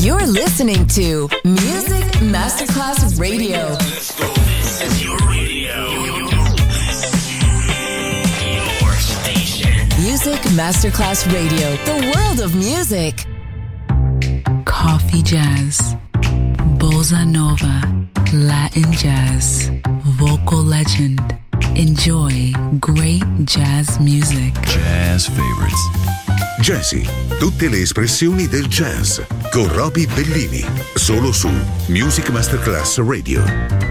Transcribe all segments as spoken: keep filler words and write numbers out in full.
You're listening to Music Masterclass Radio. Let's go. This is your radio. Your station. Music Masterclass Radio. The world of music. Coffee jazz, bossa nova, Latin jazz, vocal legend. Enjoy great jazz music. Jazz favorites. Jazzy, tutte le espressioni del jazz con Roby Bellini, solo su Music Masterclass Radio.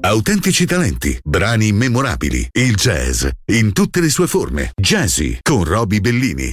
autentici talenti, brani memorabili, il jazz in tutte le sue forme. Jazzy con Roby Bellini.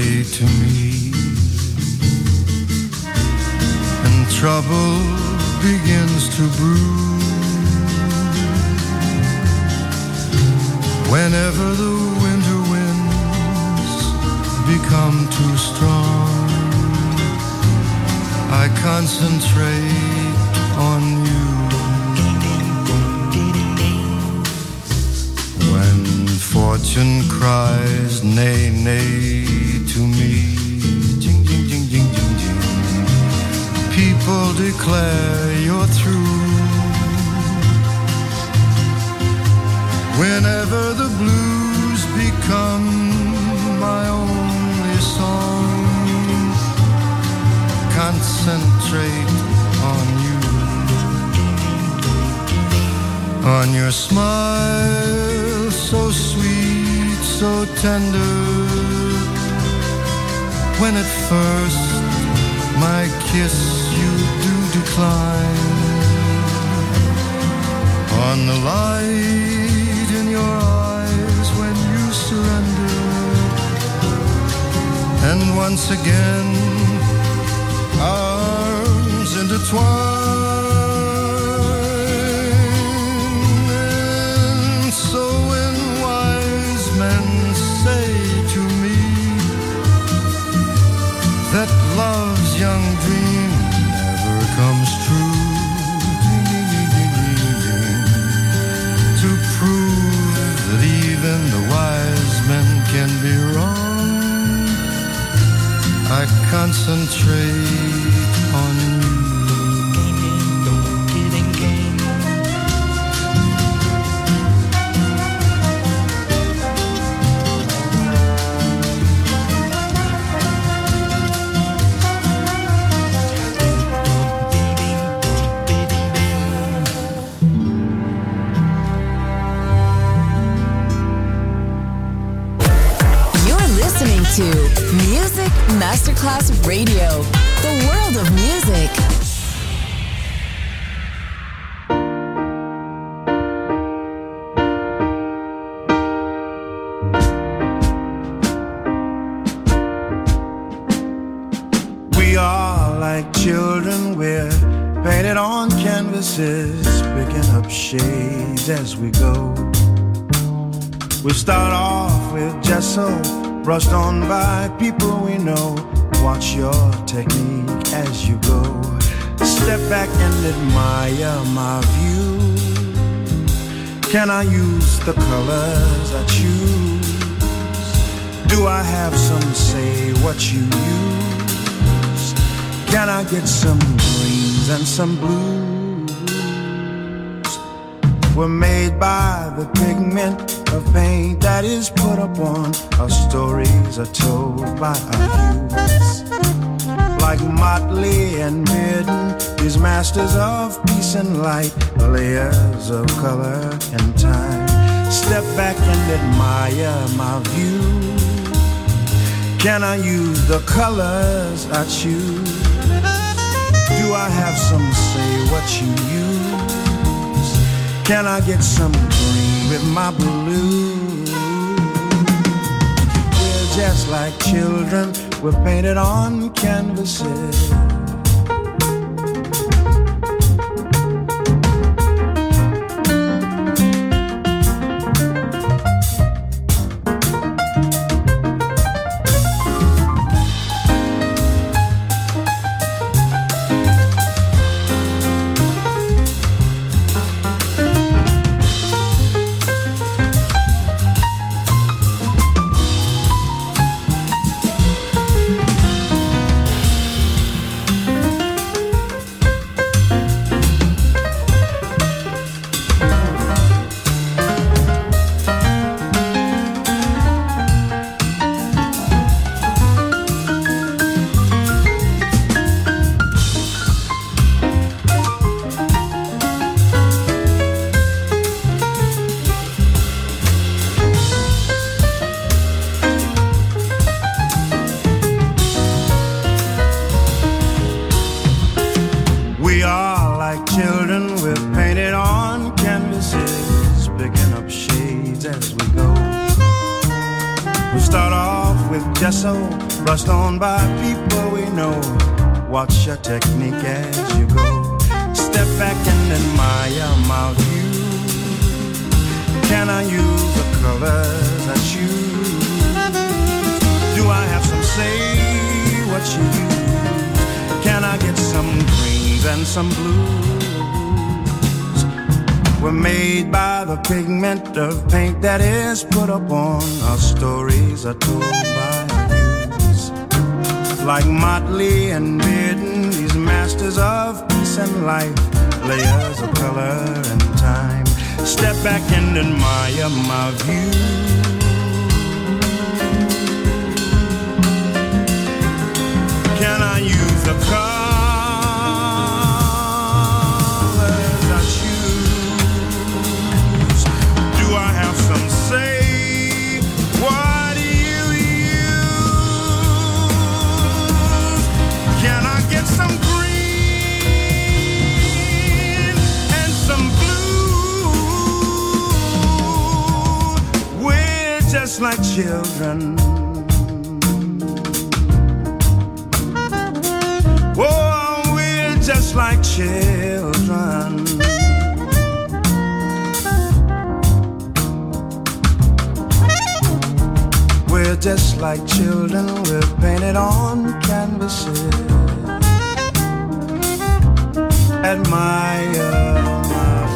say to me, and trouble begins to brew. Whenever the winter winds become too strong, I concentrate on you. When fortune cries nay, nay to me, jing, jing, jing, jing, jing, jing, people declare you're through. Whenever the blues become my only song, concentrate on you, on your smile so sweet, so tender. When at first my kiss you do decline, on the light in your eyes when you surrender, and once again arms intertwine. And so when wise men say to me that love's young dream never comes true, to prove that even the wise men can be wrong, I concentrate on you. To Music Masterclass Radio, the world of music. We are like children, we're painted on canvases, picking up shades as we go. We start off with gesso, brushed on by people we know. Watch your technique as you go. Step back and admire my view. Can I use the colors I choose? Do I have some say what you use? Can I get some greens and some blues? We're made by the pigment of paint that is put upon. Our stories are told by our hues. Like Motley and Bearden, these masters of peace and light, layers of color and time. Step back and admire my view. Can I use the colors I choose? Do I have some say what you use? Can I get some green with my blue? We're just like children, we're painted on canvases. just so brushed on by people we know. Watch your technique as you go. Step back and admire my view. Can I use the colors I choose? Do I have some say what you use? Can I get some greens and some blues? We're made by the pigment of paint that is put upon our stories are told by youths. Like Motley and Bearden, these masters of peace and life, layers of color and time. Step back and admire my view. Can I use the colors I choose? Do I have some say? What do you use? Can I get some green and some blue? We're just like children. Oh, we're just like children. We're just like children, we're painted on canvases. Admire my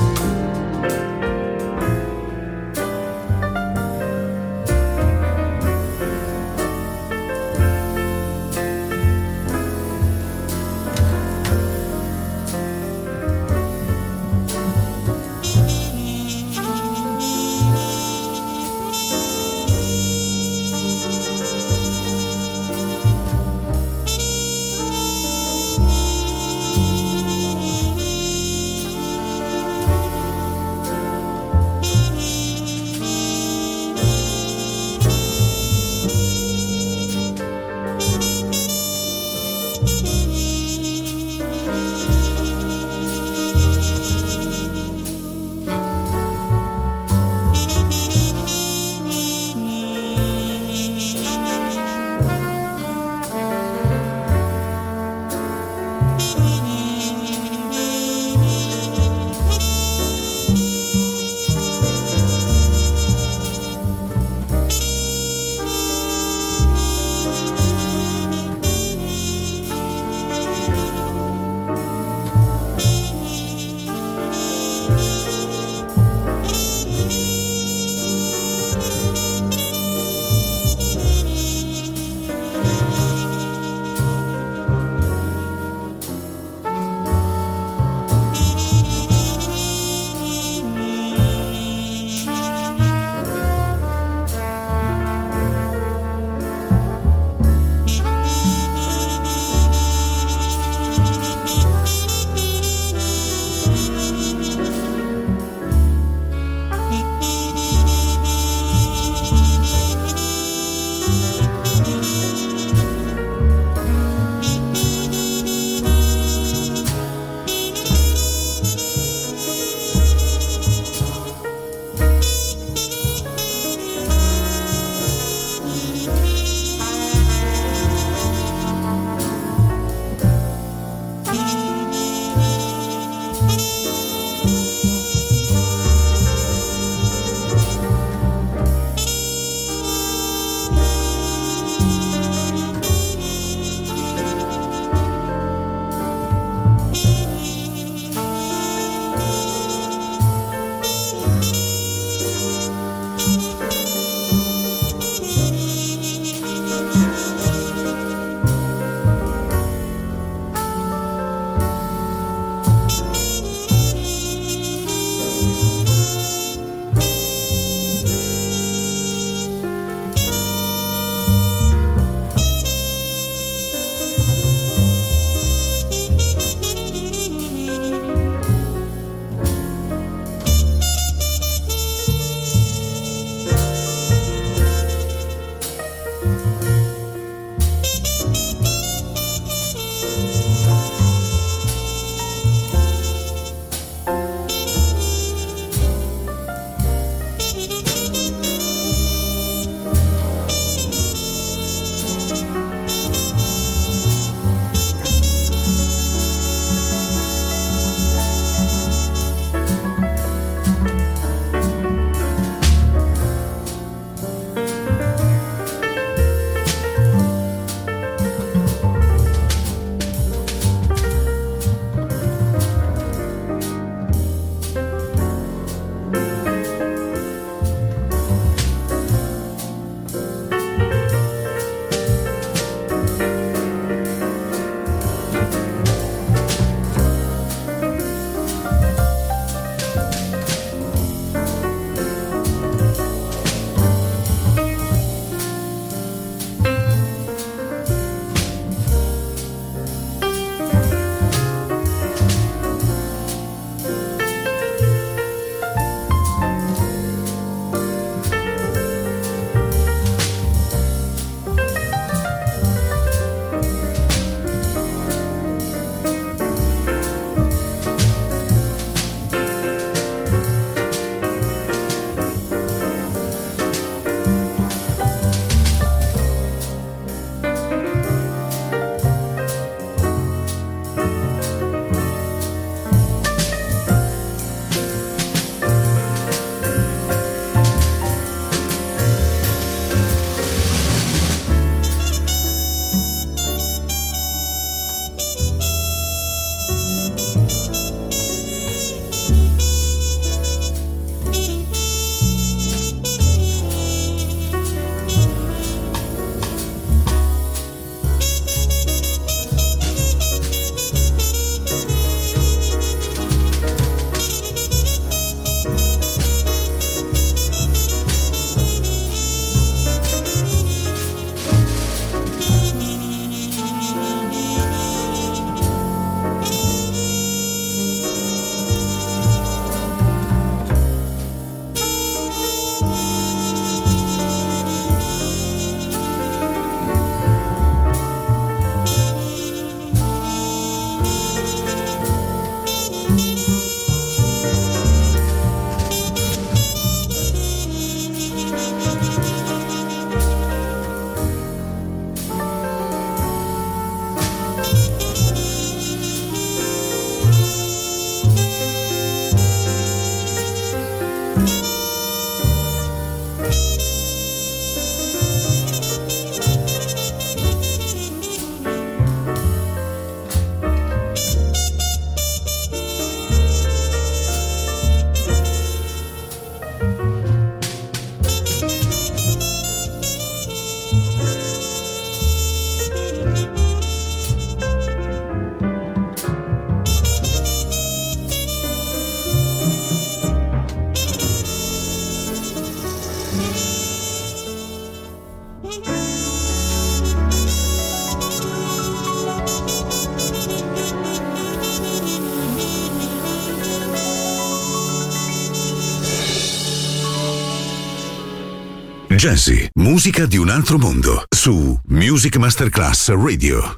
Jazzy, musica di un altro mondo, su Music Masterclass Radio.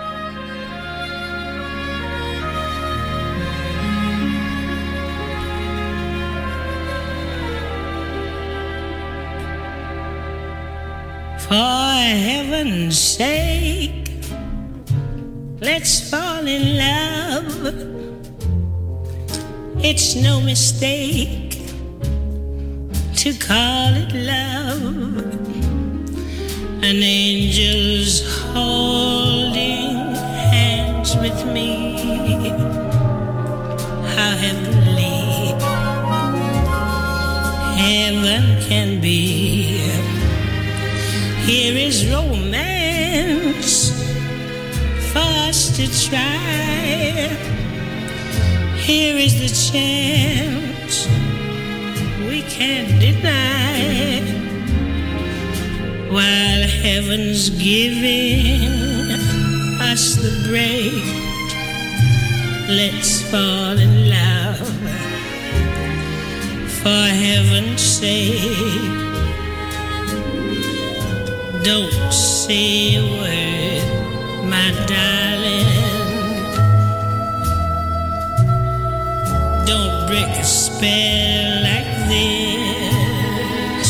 For heaven's sake, let's fall in love. It's no mistake to call it love. An angel's holding hands with me. How heavenly heaven can be. Here is romance for us to try. Here is the chance we can't deny. While heaven's giving us the break, let's fall in love. For heaven's sake, don't say a word, my darling. Don't break a spell like this.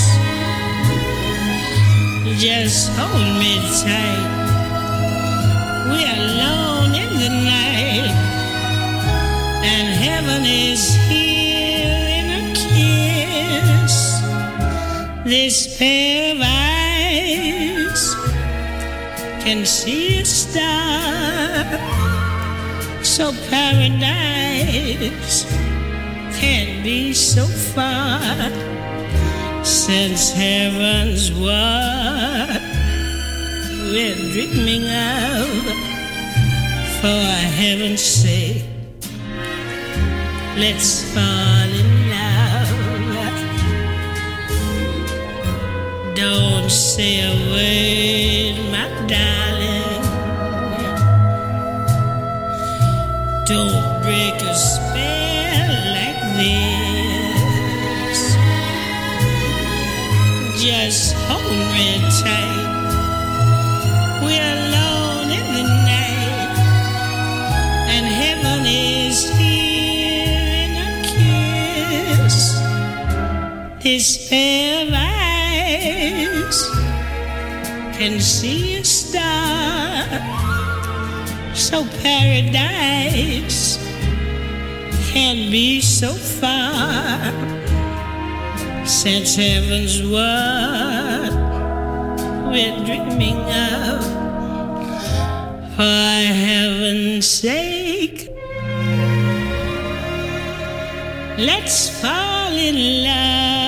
Just hold me tight. We're alone in the night, and heaven is here in a kiss. This pair of eyes can see a star, so paradise can't be so far, since heaven's what we're dreaming of. For heaven's sake, let's fall in love. Don't say a word, my darling. Don't break a spell like this. Just hold me tight. We're alone in the night, and heaven is here in a kiss. This pair of eyes can see a star, so paradise can't be so far, since heaven's what we're dreaming of. For heaven's sake, let's fall in love.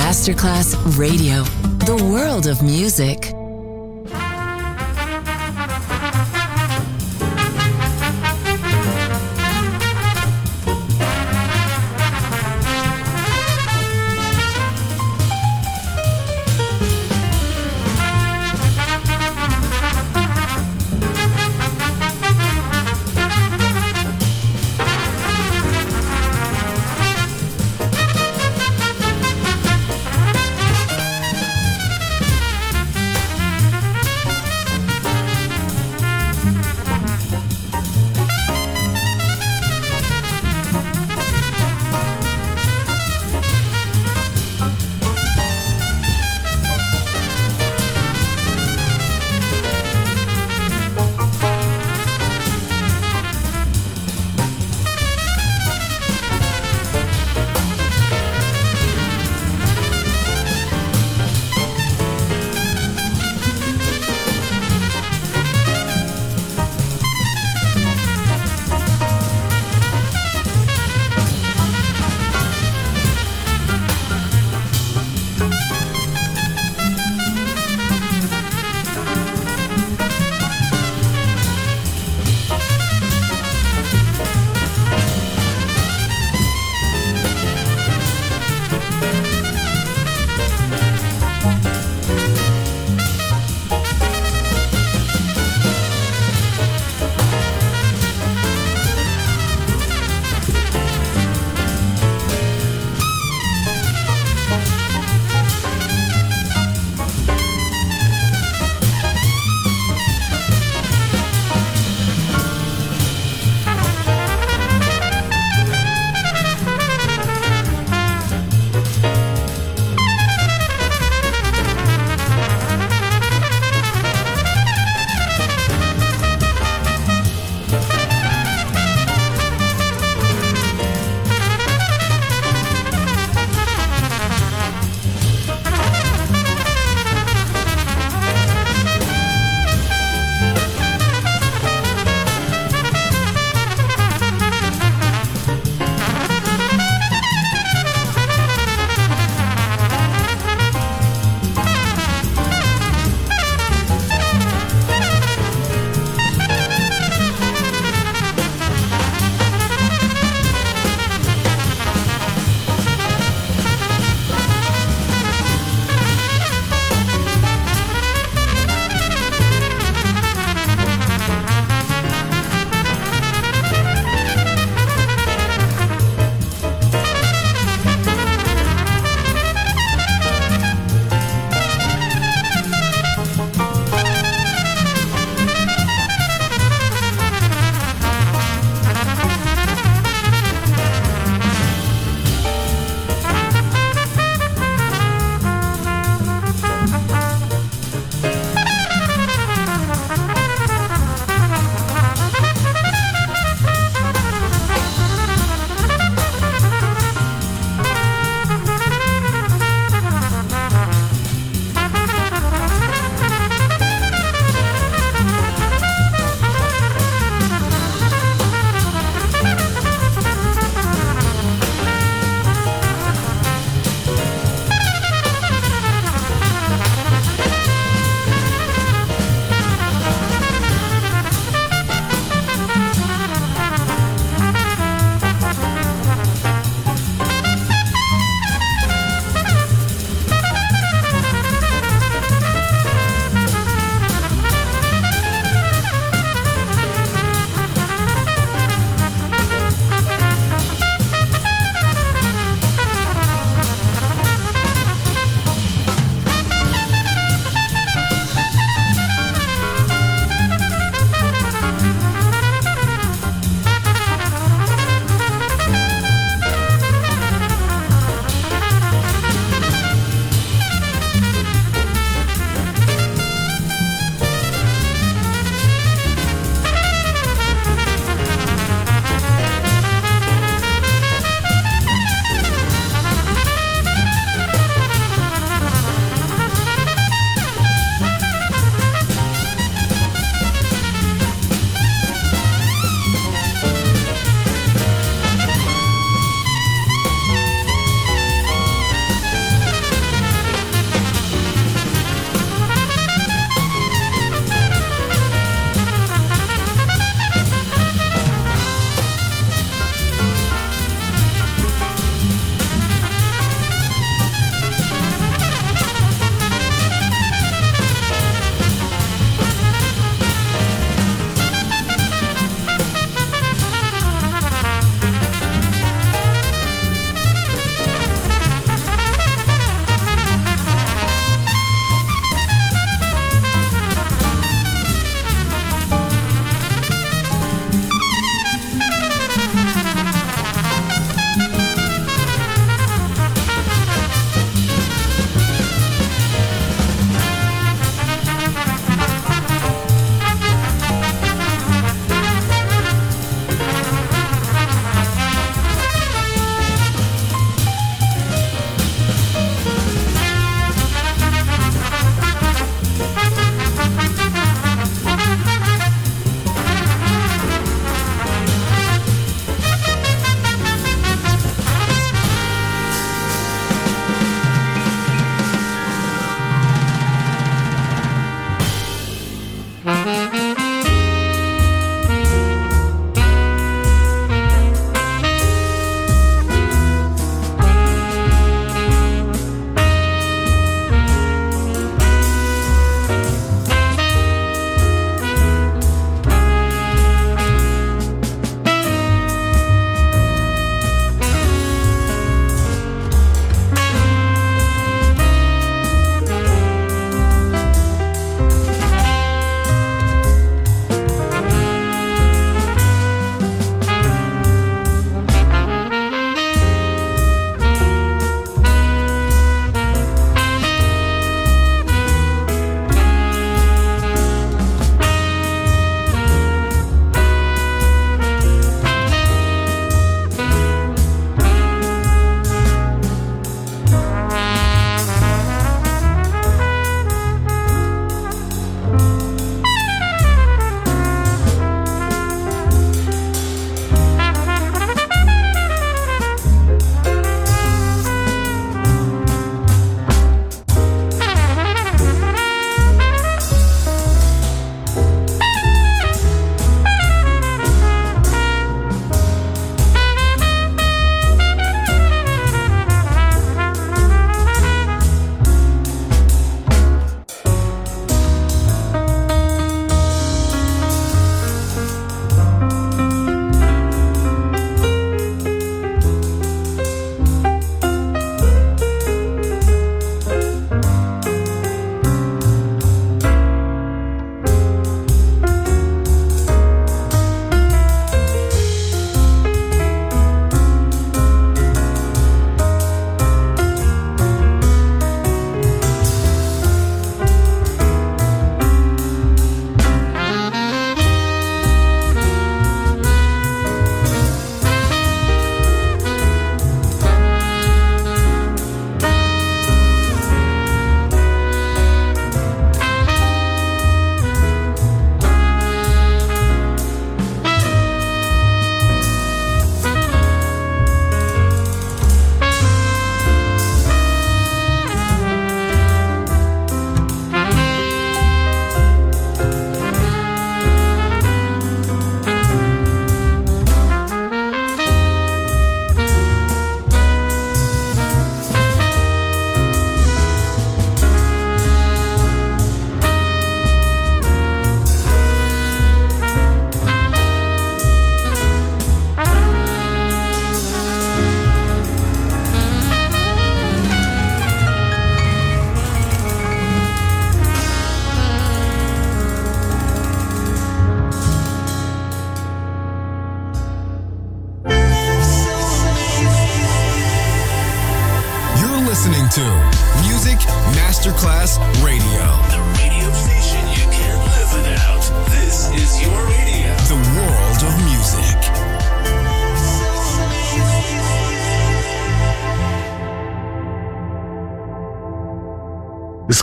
Masterclass Radio, the world of music.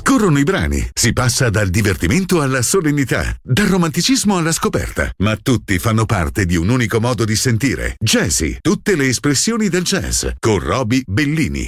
Scorrono i brani, si passa dal divertimento alla solennità, dal romanticismo alla scoperta, ma tutti fanno parte di un unico modo di sentire. Jazzy, tutte le espressioni del jazz, con Roby Bellini.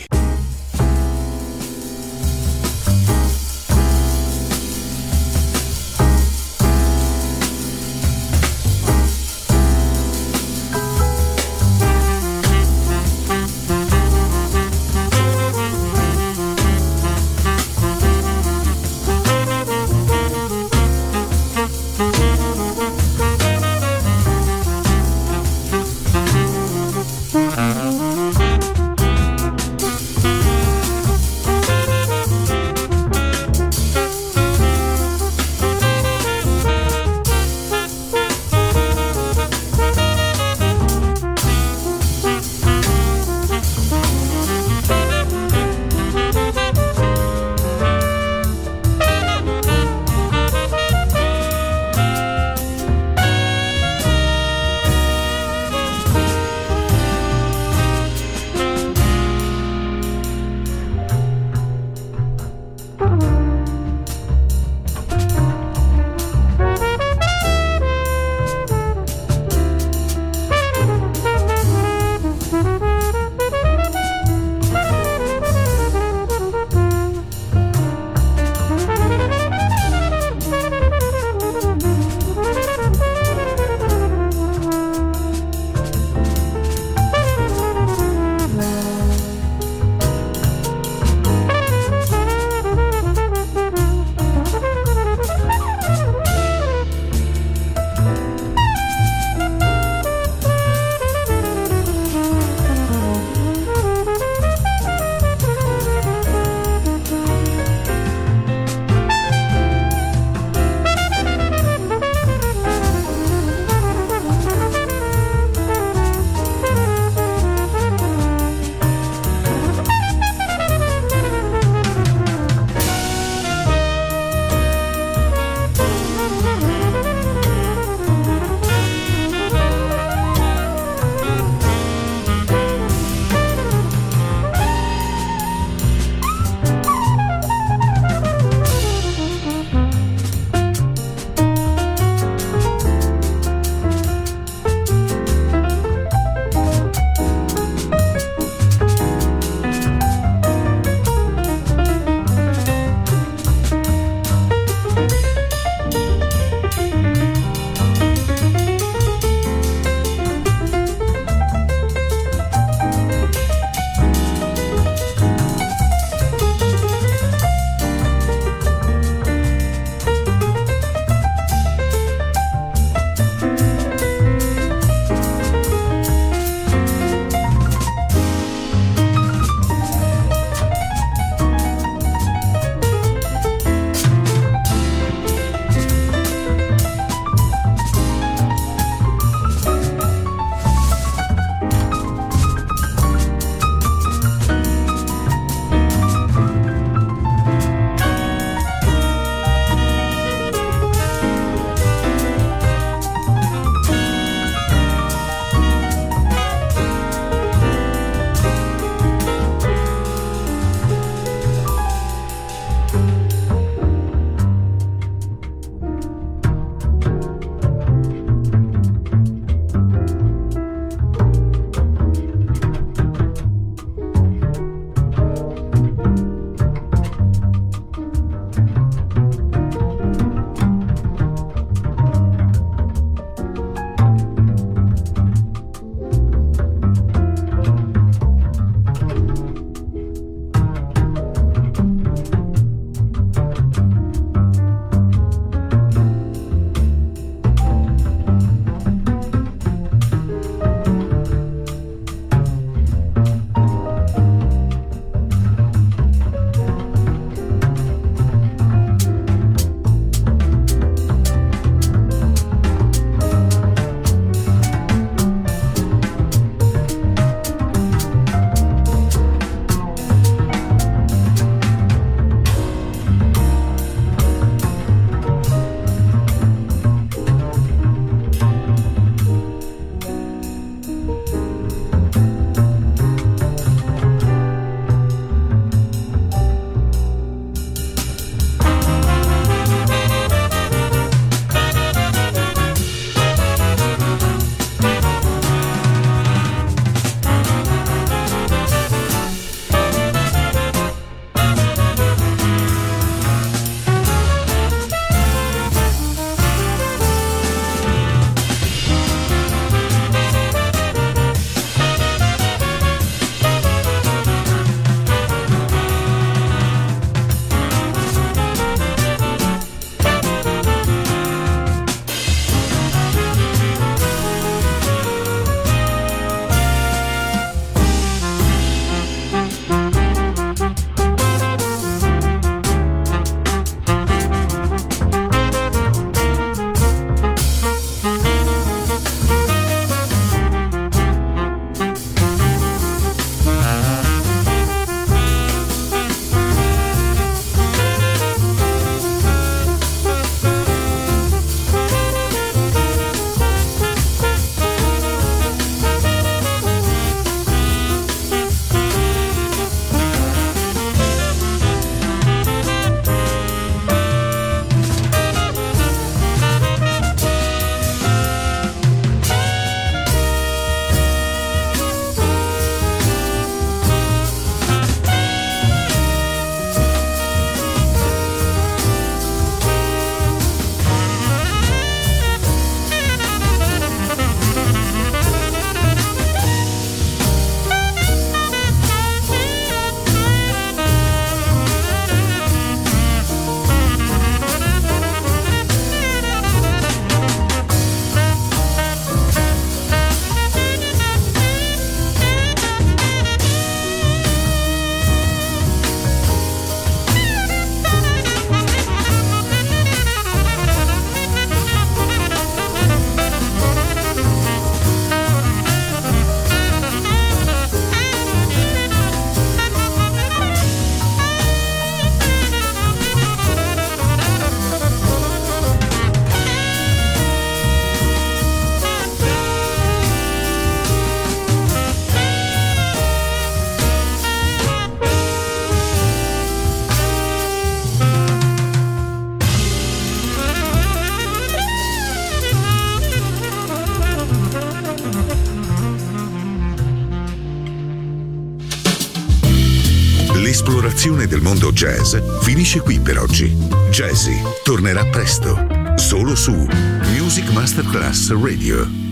esplorazione del mondo jazz finisce qui per oggi. Jazzy tornerà presto, solo su Music Masterclass Radio.